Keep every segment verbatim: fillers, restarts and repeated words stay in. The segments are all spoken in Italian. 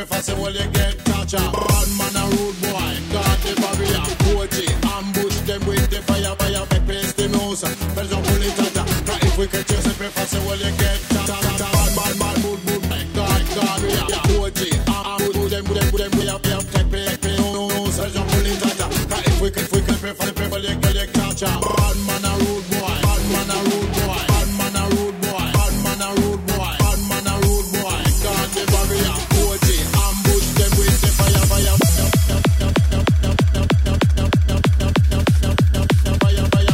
fast, well you get toucha. Bad man a rude boy, got the barrier. Coach it, ambush them with the fire, fire, make place the mouse. There's no bullet tata. Now if we catch you, say fast, well you get toucha. Bad man, man, good, good, God, God, we are. Coach it, ambush them, them, them, we are, we are, take place the mouse. There's no bullet tata. Now if we catch, we catch, we fast, well you get toucha. Bad man a rude boy, bad man a rude boy, bad man a rude boy, bad man a rude boy, bad man a rude boy. Got the barrier, coach it, ambush them with the fire, fire, fire, fire, fire.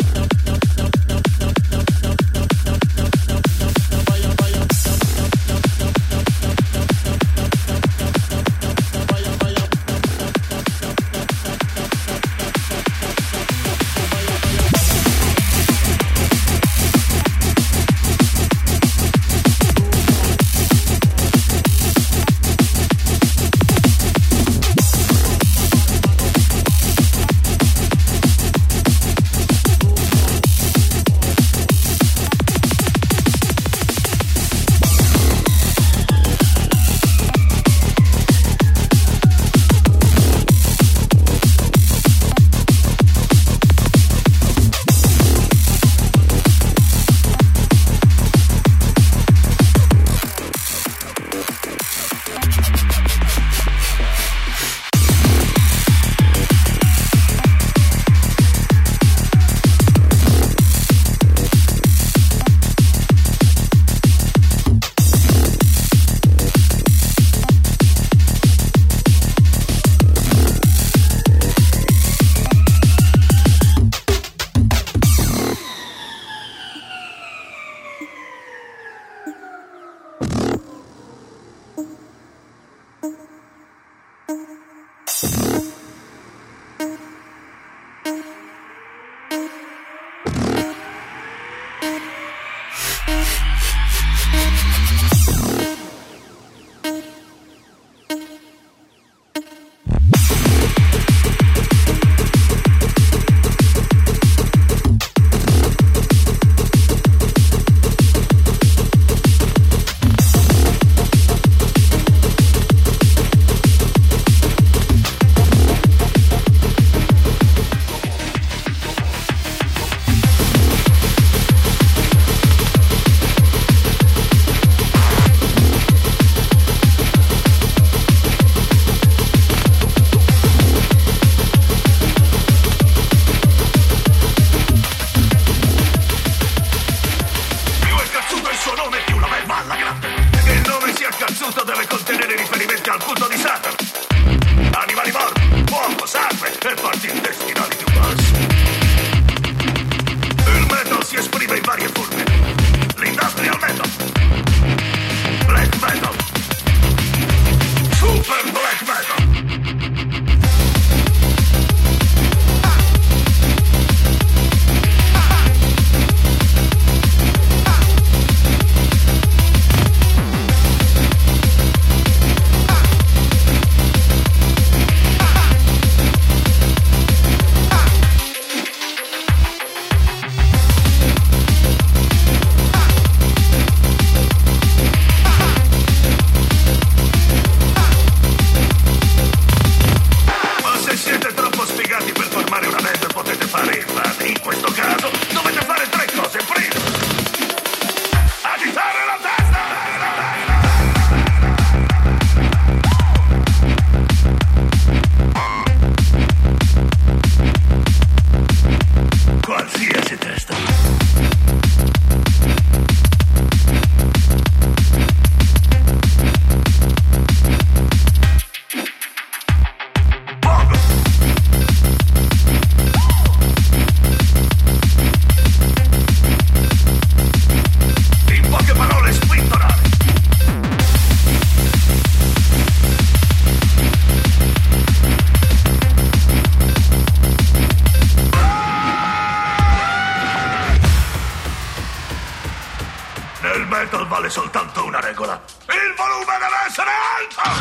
metal vale soltanto una regola. Il volume deve essere alto!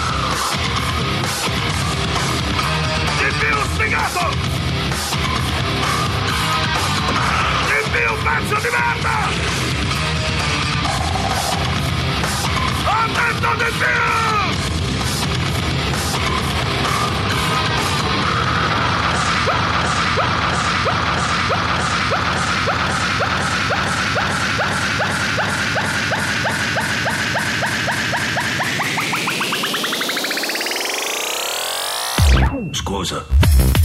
Di più sfigato! Di più pezzo di merda! Ho detto di più! Scusa.